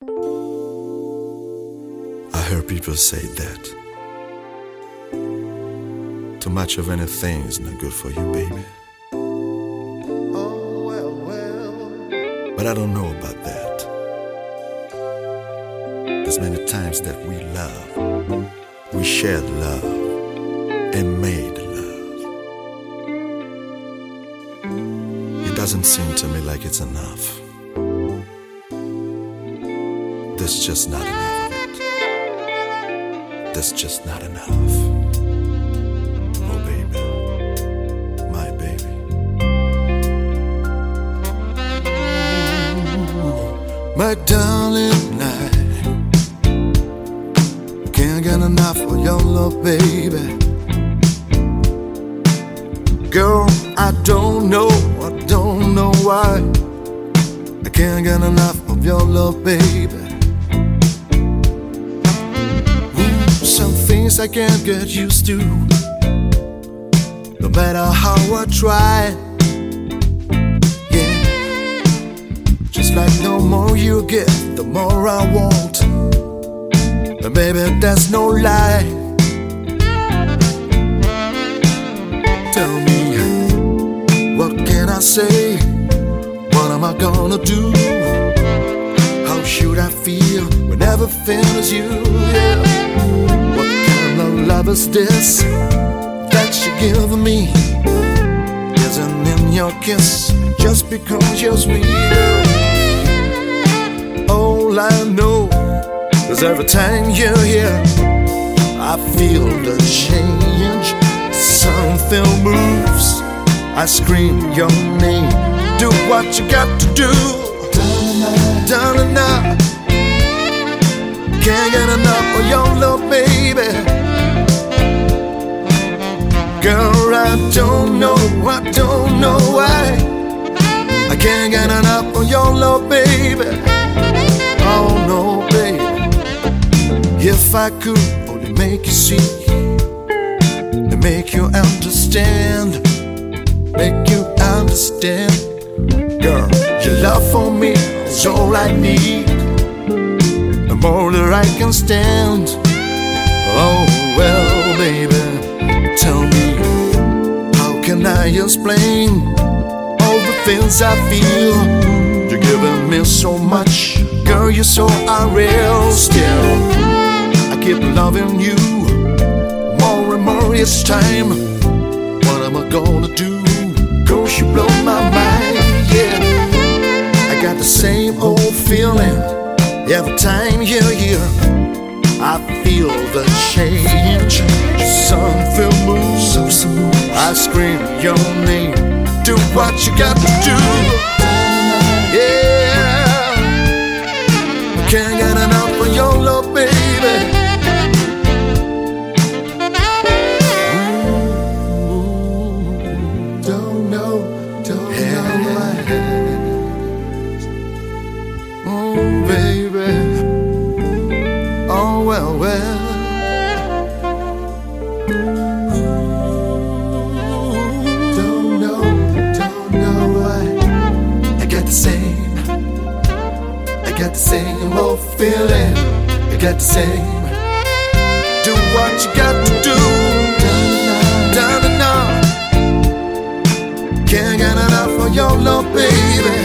I heard people say that too much of anything is not good for you, baby. But I don't know about that. There's many times that we love, we shared love and made love. It doesn't seem to me like it's enough. There's just not enough of it. There's just not enough. Oh baby, my baby. My darling, I can't get enough of your love, baby. Girl, I don't know why I can't get enough of your love, baby. Some things I can't get used to, no matter how I try. Just like the more you get, the more I want. But baby, that's no lie. Tell me, what can I say? What am I gonna do? How should I feel when everything is you? Yeah. What kind of love is this that you're giving me? Isn't in your kiss just because you're sweet? All I know is every time you're here, I feel the change. Something moves, I scream your name. Do what you got to do. Darling, now can't get enough of your love, baby. Girl, I don't know why I can't get enough of your love, baby. Oh no, baby. If I could only make you see and make you understand, make you understand. Girl, your love for me is all I need, the more that I can stand. Oh well, baby, tell me, how can I explain all the things I feel? You're giving me so much, girl, you're so unreal. Still, I keep loving you more and more each time. What am I gonna do? Cause you blow my mind, yeah. I got the same old feeling every time you're here. I feel the change. Something moves, I scream your name. Do what you got to do. Yeah, can't get enough of your love, baby. Don't know why. Oh, baby. Oh, well. Don't know why. I got the same old feeling. I got the same. Do what you got to do. Down and out. Can't get enough of your love, baby.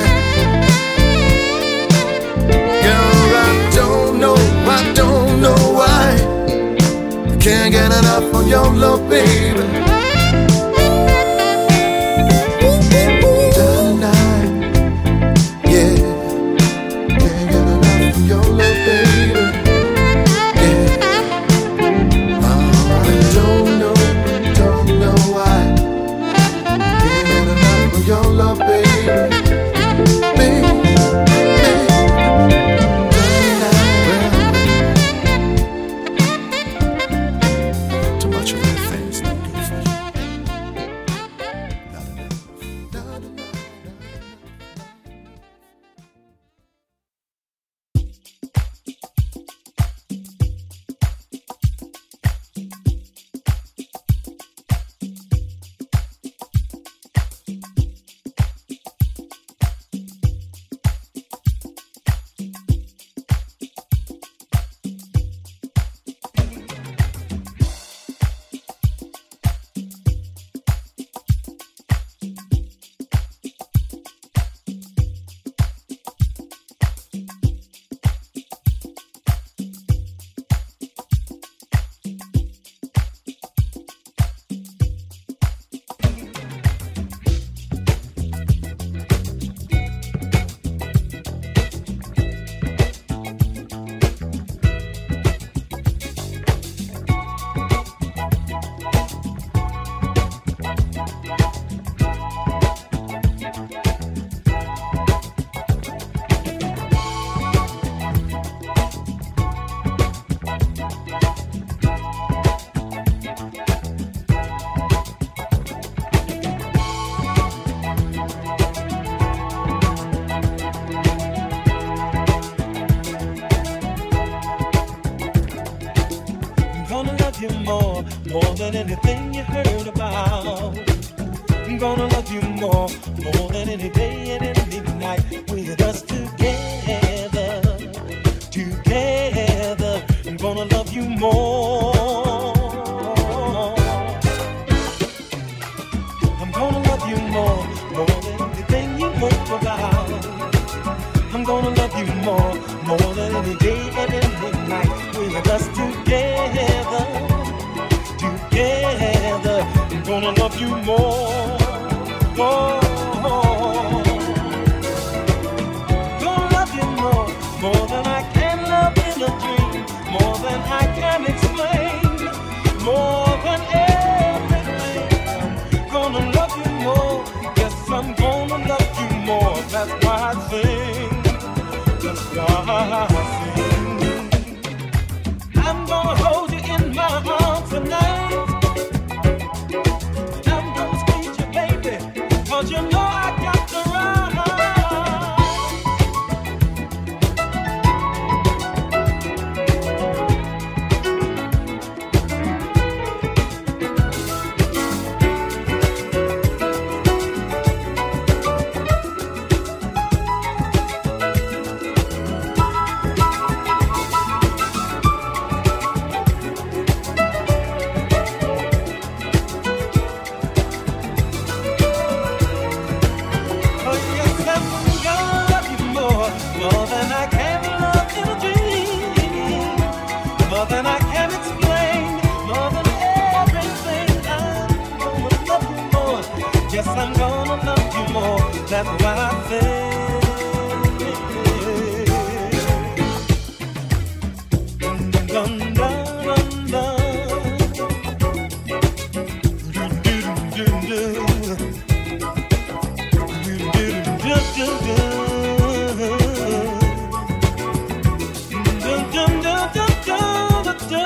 Girl, I don't know why I can't get enough of your love, baby. Too much of that things. more than anything you heard about. I'm gonna love you more than any day and any night. With us together, together. I'm gonna love you more. I'm gonna love you more than anything you heard about. I'm gonna love you more than any day and any night. With us together, together. I'm gonna love you more. Gonna love you more than I can love in a dream, more than I can explain, more than everything. I'm gonna love you more. Yes, I'm gonna love you more. That's why I sing. That's why I sing. I'm gonna hold you in my arms tonight. I'm gonna squeeze you, baby, 'cause you know I got the right. I'm gonna love you more. That's why I say. Dun, dun, dun, dun. Do, do, do, do, do. Do, do, do, do, do. Dun, dun, dun, dun, dun, dun.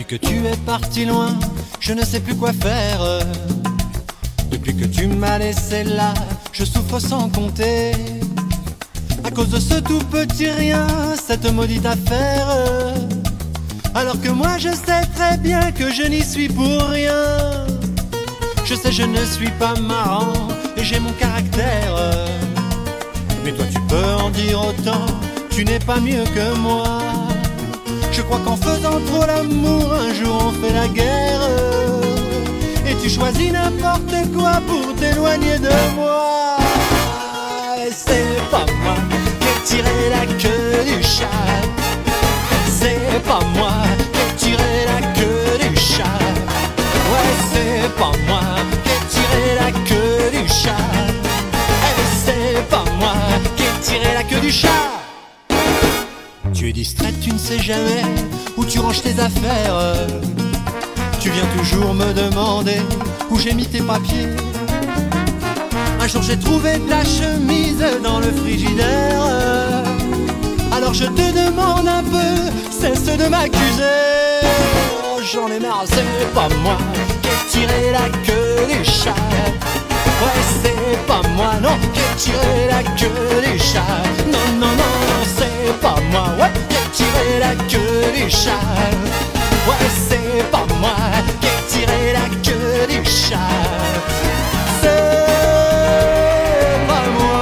que tu es parti loin, je ne sais plus quoi faire. Depuis que tu m'as laissé là, je souffre sans compter. À cause de ce tout petit rien, cette maudite affaire. Alors que moi je sais très bien que je n'y suis pour rien. Je sais je ne suis pas marrant et j'ai mon caractère. Mais toi tu peux en dire autant, tu n'es pas mieux que moi. Je crois qu'en faisant trop l'amour, un jour on fait la guerre. Et tu choisis n'importe quoi pour t'éloigner de moi. Et c'est pas moi qui ai tiré la queue du chat. C'est pas moi qui ai tiré la queue du chat. Ouais, c'est pas moi qui ai tiré la queue du chat. Et c'est pas moi qui ai tiré la queue du chat. Tu es distraite, tu ne sais jamais où tu ranges tes affaires. Tu viens toujours me demander où j'ai mis tes papiers. Un jour j'ai trouvé ta chemise dans le frigidaire. Alors je te demande un peu, cesse de m'accuser. Oh, j'en ai marre, c'est pas moi qui ai tiré la queue du chat. Ouais, c'est pas moi, non, qui ai tiré la queue du chat. Non, non, non, c'est pas moi, ouais, qui ai tiré la queue du chat. Ouais, c'est pas moi qui ai tiré la queue du chat. C'est pas moi.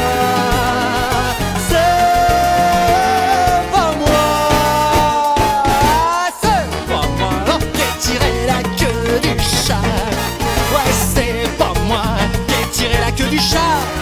C'est pas moi. C'est pas moi, non, qui ai tiré la queue du chat. Ouais, c'est pas moi qui ai tiré la queue du chat.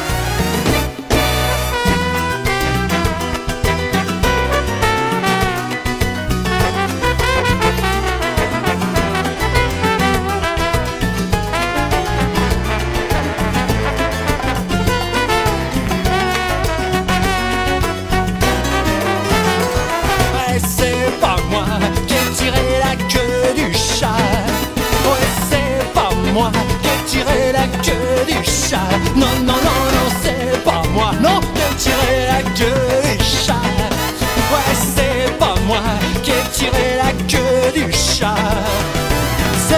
Non, non, non, non, c'est pas moi, non, qui ai tiré la queue du chat. Ouais, c'est pas moi qui ai tiré la queue du chat. C'est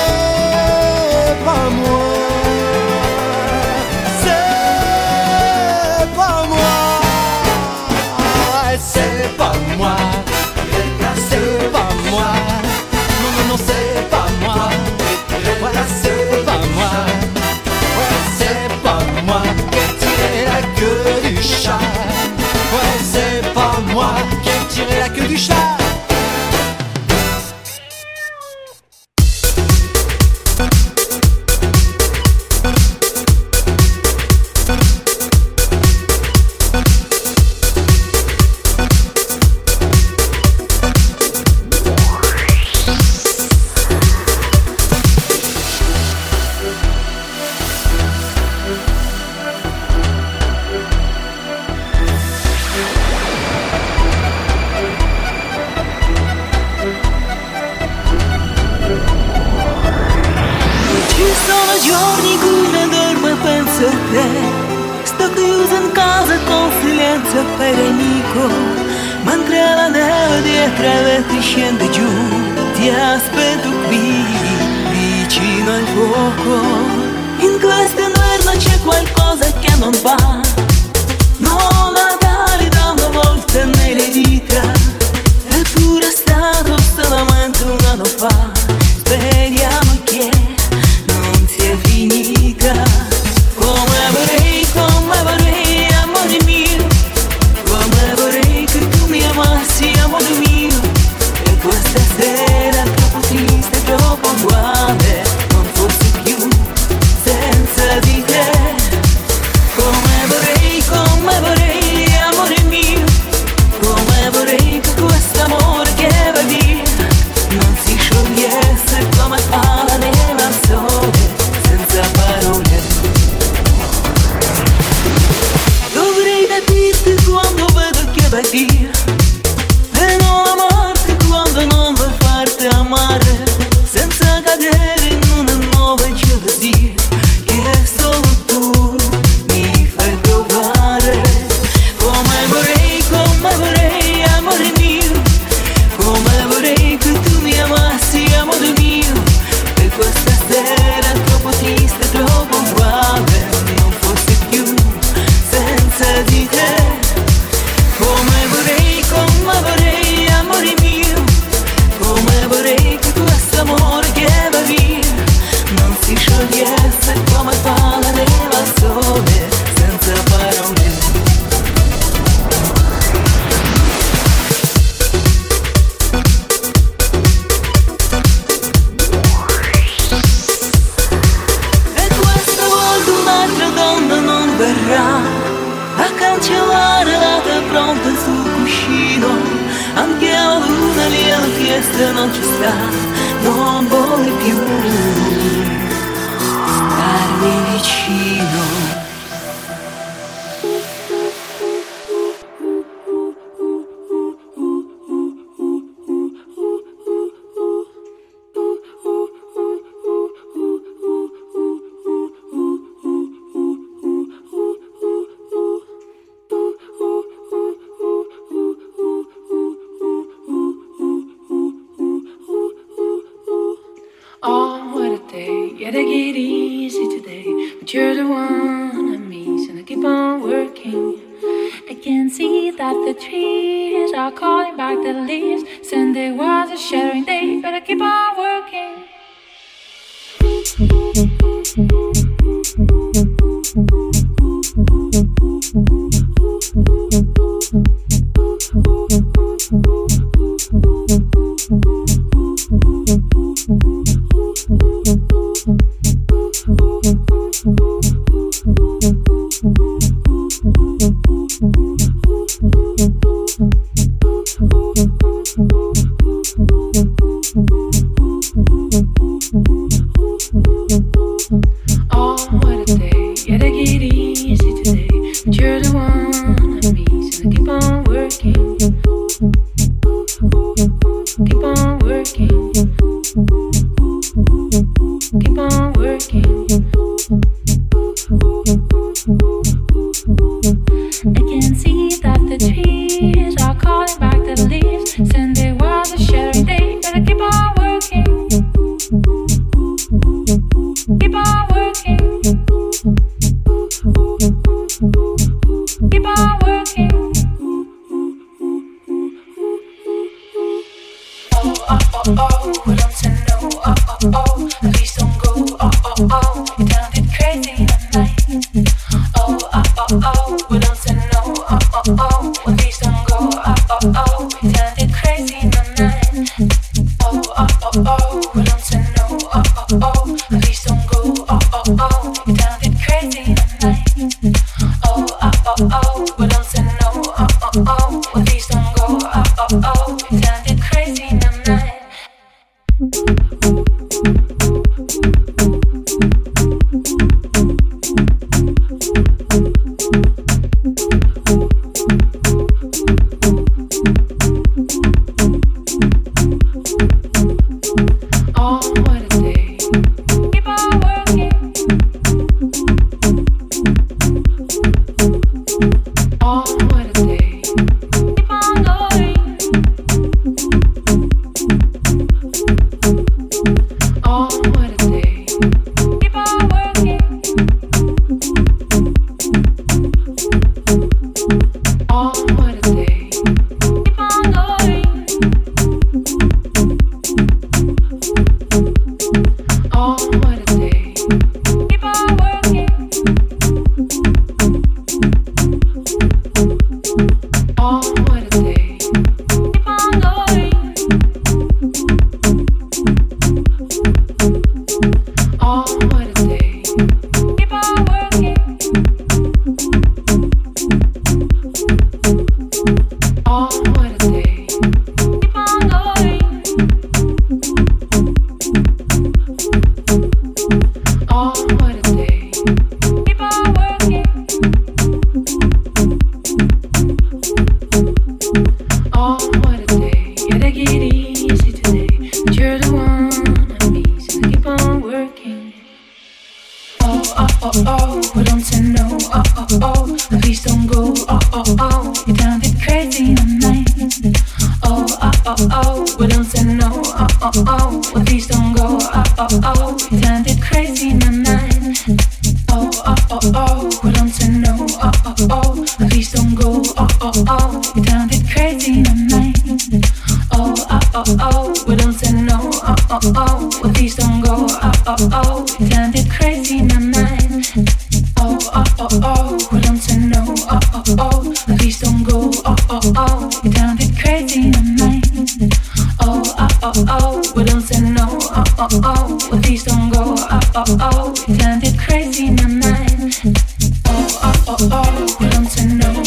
pas moi. C'est pas moi. C'est pas moi. C'est pas moi. Non, non, non, c'est pas moi. Voilà, c'est pas moi. C'est pas moi qui ai tiré la queue du chat. Ouais, c'est pas moi qui ai tiré la queue du chat. Sto chiuso in casa con silenzio per amico, mentre la neve dietro i vetri scende giù. Ti aspetto qui, vicino al fuoco. In questo inverno c'è qualcosa che non va. Non Natale da una volta nelle dita, eppure è stato solamente un anno fa. Speriamo che non sia finita. Come vorrei, amore mio, come vorrei che tu mi amassi, amore mio. E questa sera troppo triste, troppo uguale, non fosse più senza di te. Come vorrei niente non ci sta, non vuole più starmi vicino. You're the one I miss, and I keep on working. I can see that the trees are calling back the leaves. Sunday was a shattering day, but I keep on working.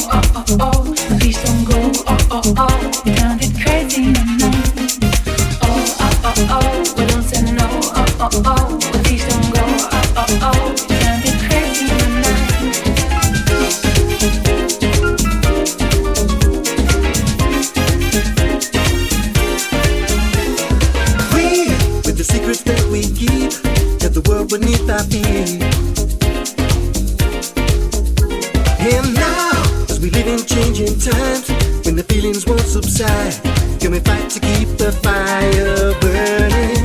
Please don't go, oh, oh, oh, you can't get crazy in my mind. keep the fire burning.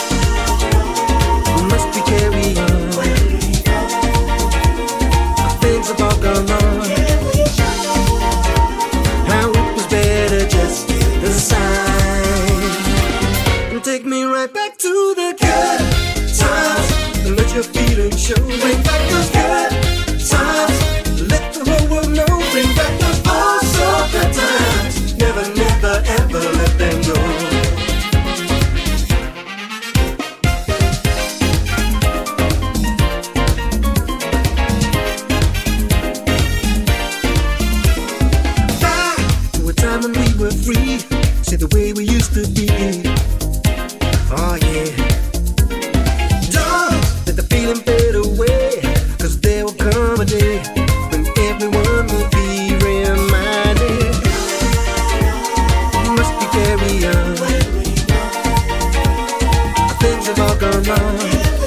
Must we carry on? Things have all gone wrong. How it was better just the sign. And take me right back to the good times. And let your feelings show. Bring back those good times. Let the whole world know. Bring back those all so good times. Never, never, ever let them go. Back to a time when we were free. See the way we used to be. Oh yeah. Don't let the feeling fade away. 'Cause there will come a day when everyone will be reminded. Must be carry on. Things have all gone wrong.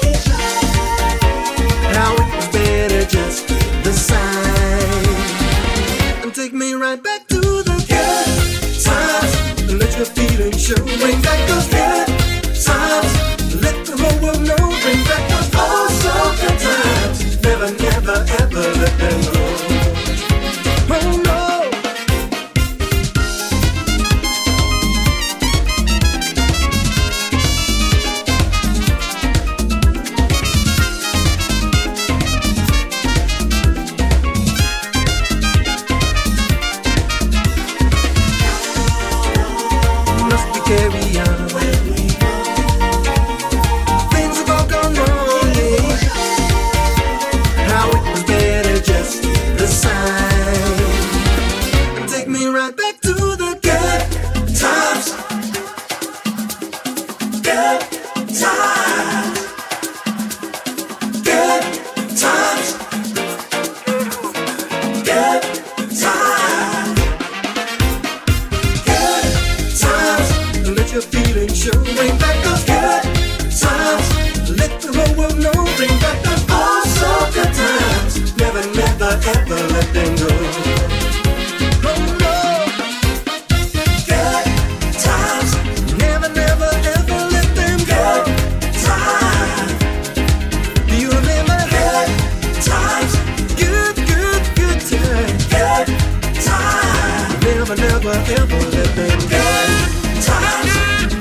How it was better just the sign. And take me right back to the good times. And let your feelings show. Bring back those good times. Let the whole world know. Bring back those all so good times. Never, never, ever let them go. Oh no. Must we carry on? Things have all gone wrong, yeah. How it was better just the sign. And take me right back to the good times. Good times. Good times. Good times. Good times. Let your feelings show. Bring back those good times. Let the whole world know. Bring back those all so good times. Never, never, ever let them go. Oh no. Good times. Never, never, ever let them go. Good times. Do you remember? Good times. Good, good, good times. Good times. Never, never, ever let them go. Good times.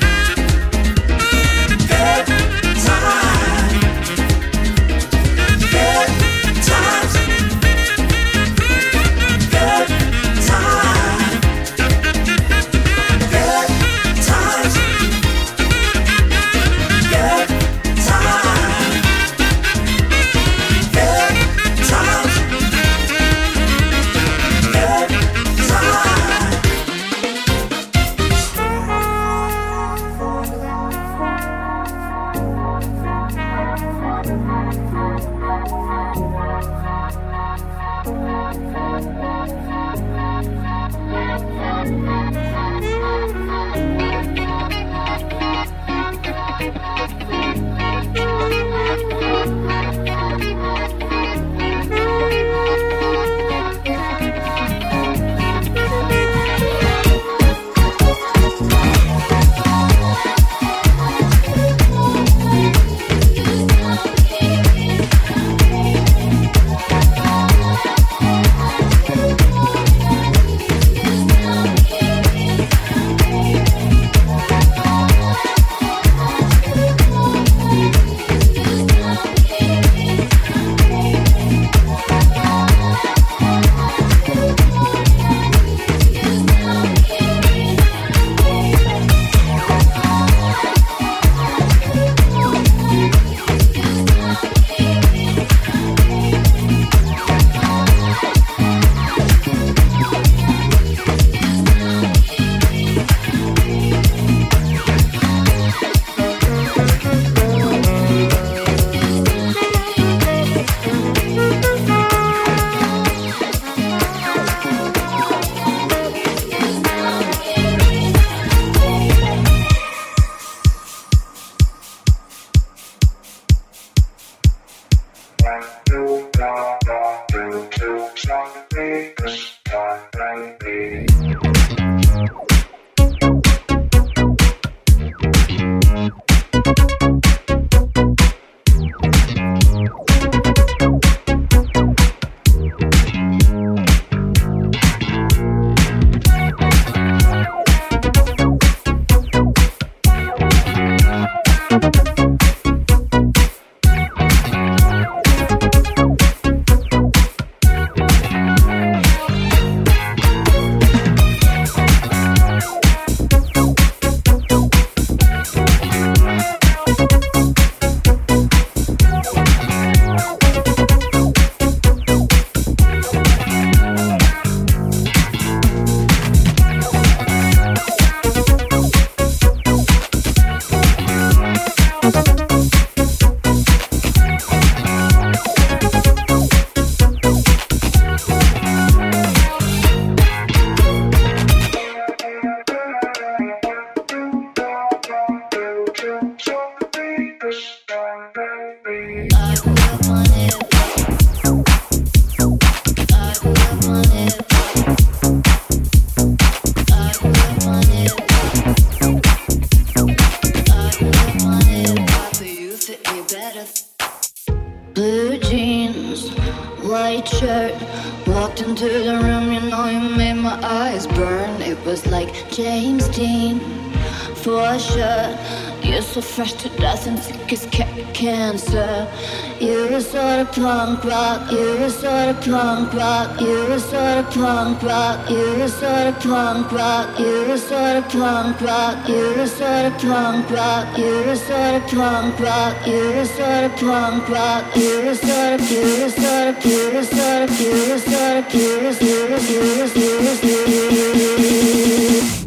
Good times. Good times. shirt. Walked into the room, you know you made my eyes burn. It was like James Dean, for sure. You're so fresh to death and sick as cancer. You're a sort of punk rock. You're a sort of punk rock. You're a sort of punk rock. You're a sort of punk rock. You're a sort of punk rock. You're a sort of punk rock. You're a sort of punk rock. You're a sort of punk rock. You're a sort of. You're a sort of. You're a sort of. You're a sort of. You're a. You're a. You're a. You're a.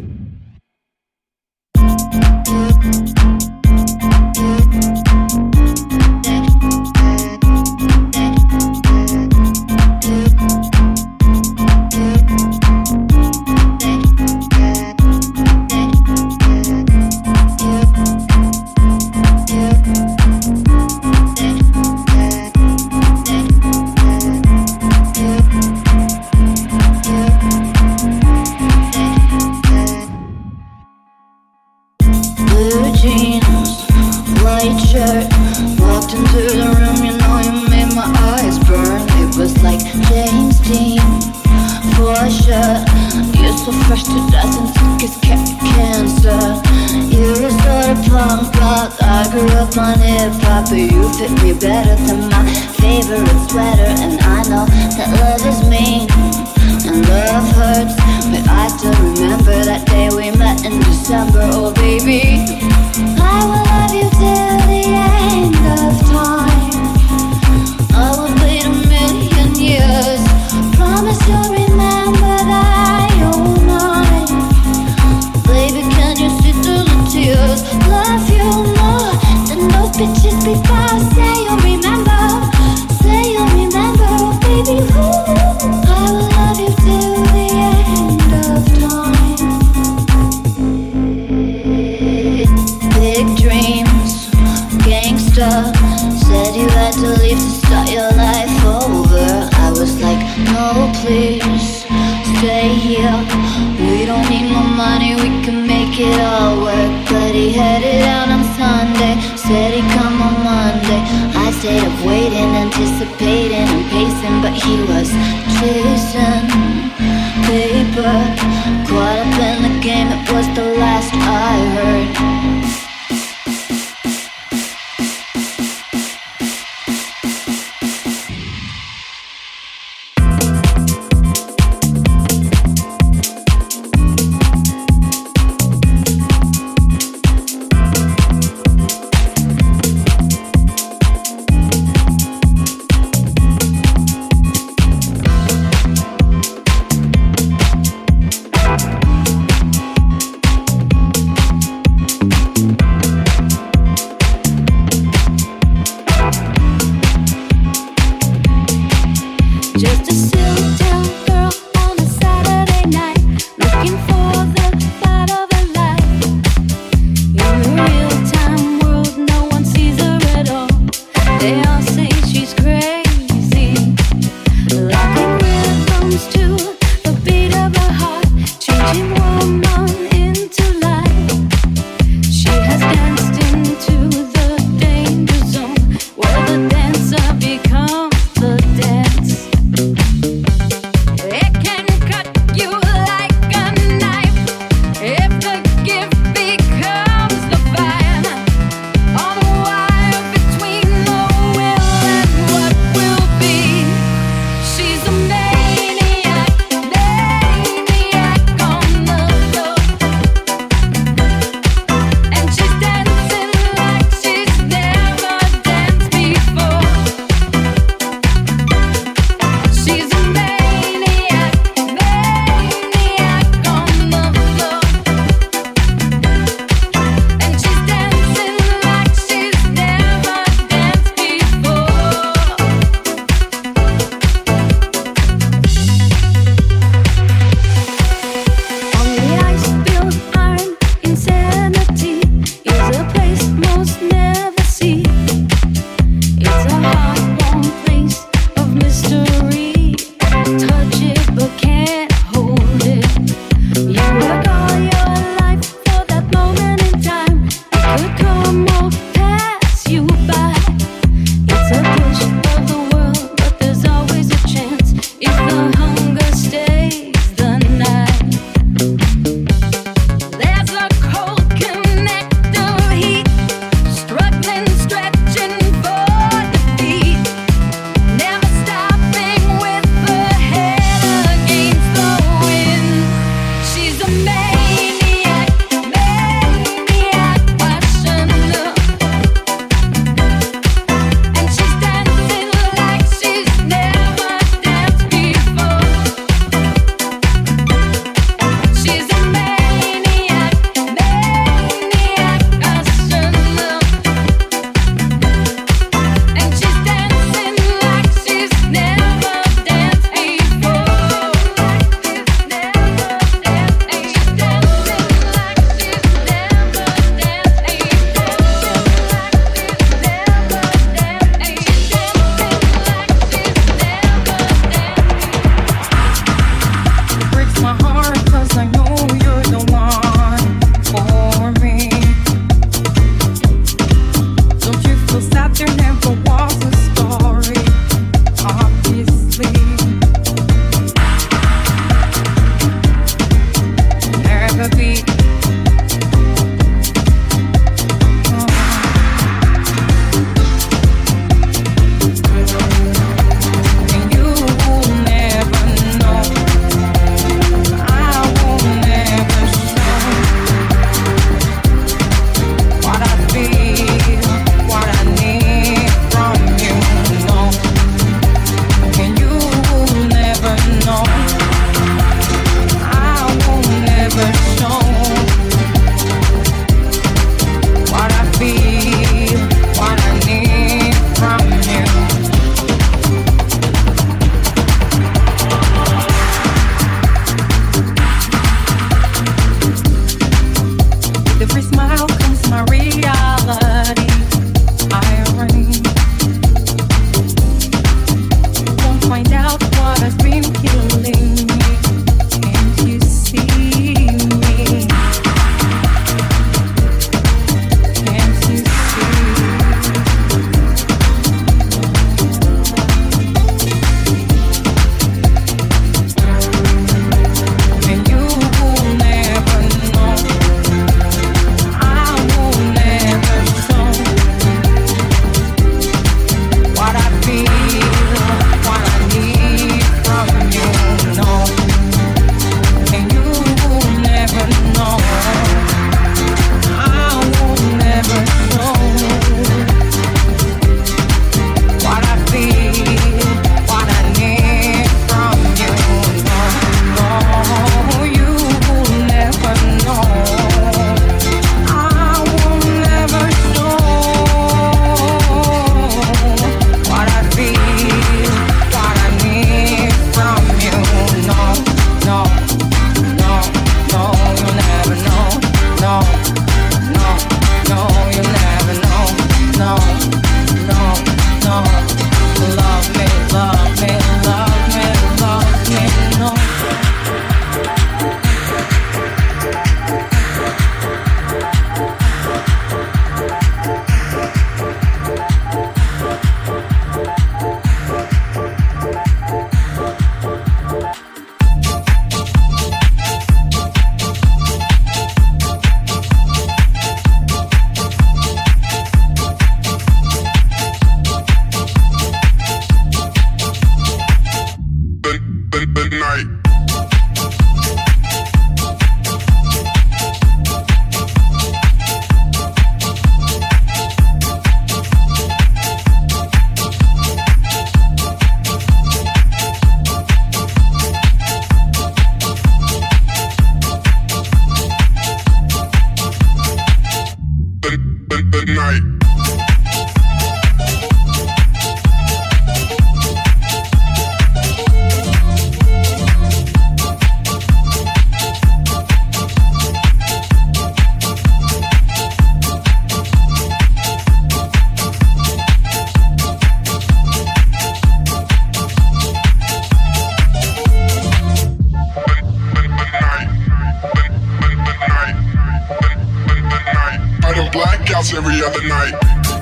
blackouts every other night.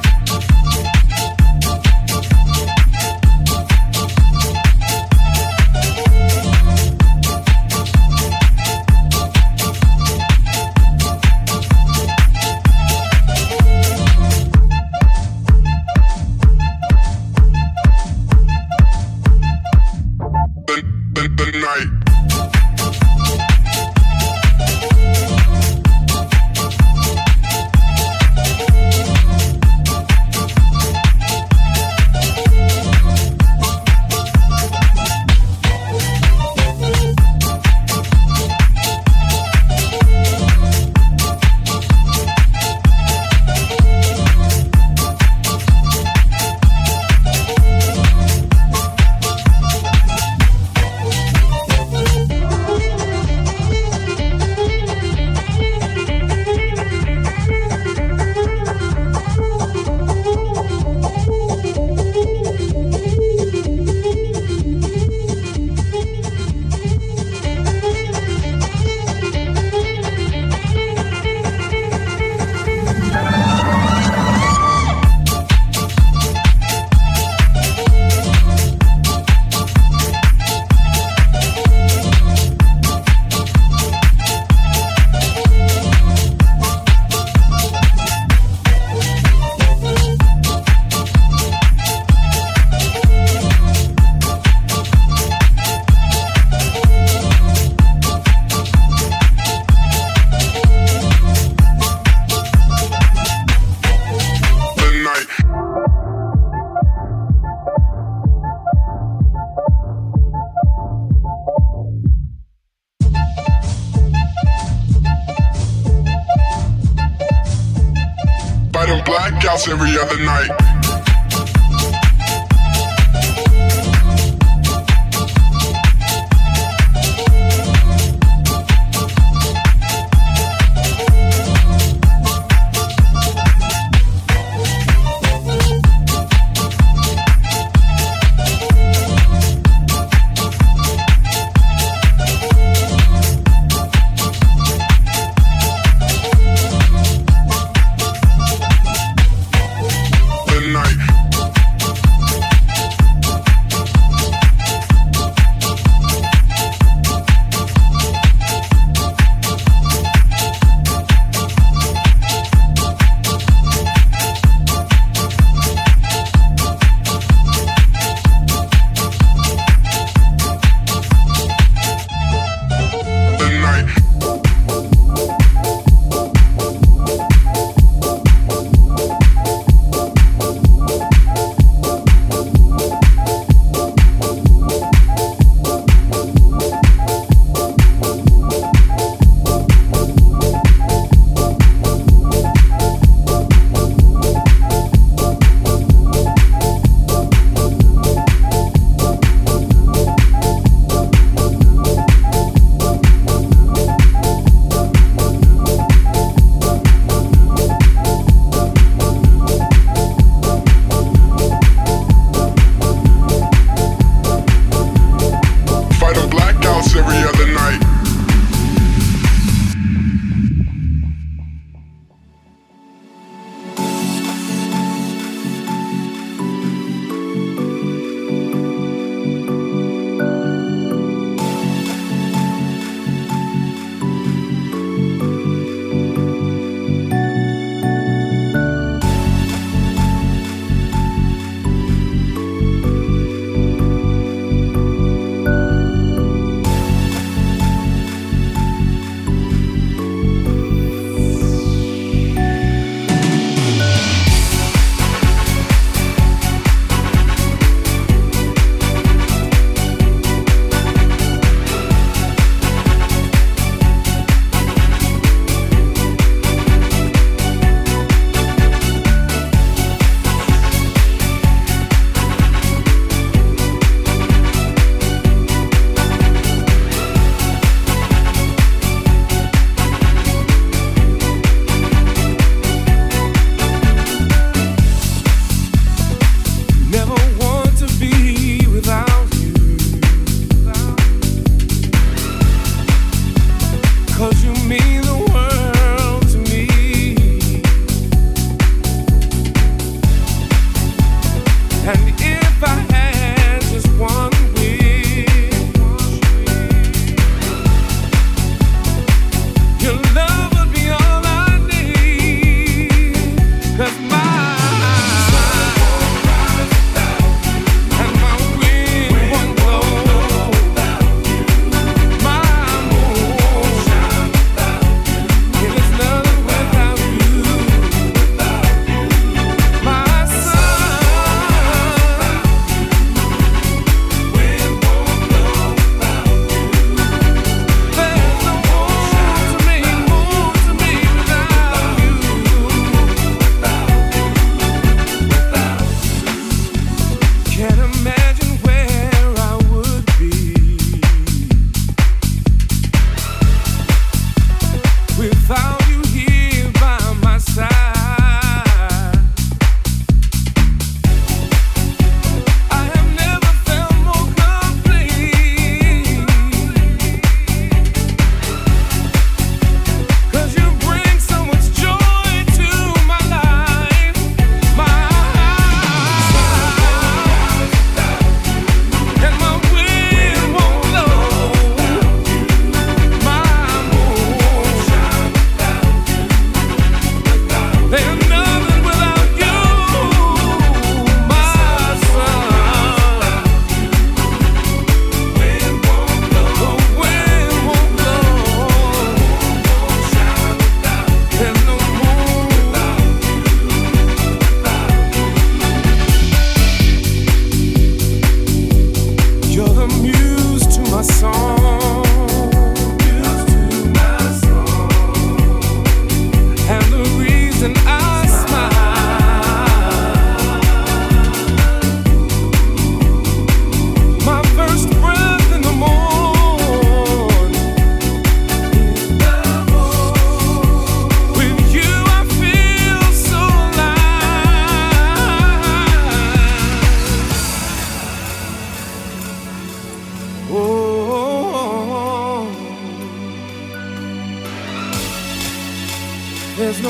Blackouts every other night.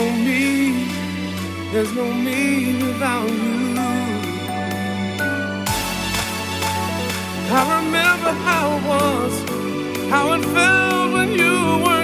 no me, there's no me without you. I remember how it was, how it felt when you were